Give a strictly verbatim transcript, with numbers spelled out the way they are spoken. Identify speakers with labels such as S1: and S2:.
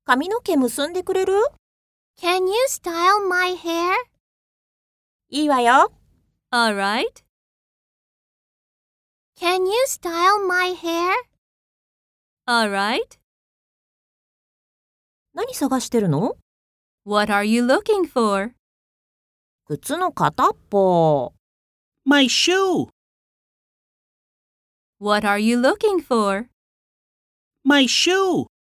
S1: 髪の毛結んでくれる？
S2: Can you style my hair?
S1: いいわよ。
S3: Alright.
S2: Can you style my hair?
S3: Alright.
S1: 何探してるの？
S3: What are you looking for?
S1: 靴の片っぽ。
S4: My shoe.
S3: What are you looking for?
S4: My shoe.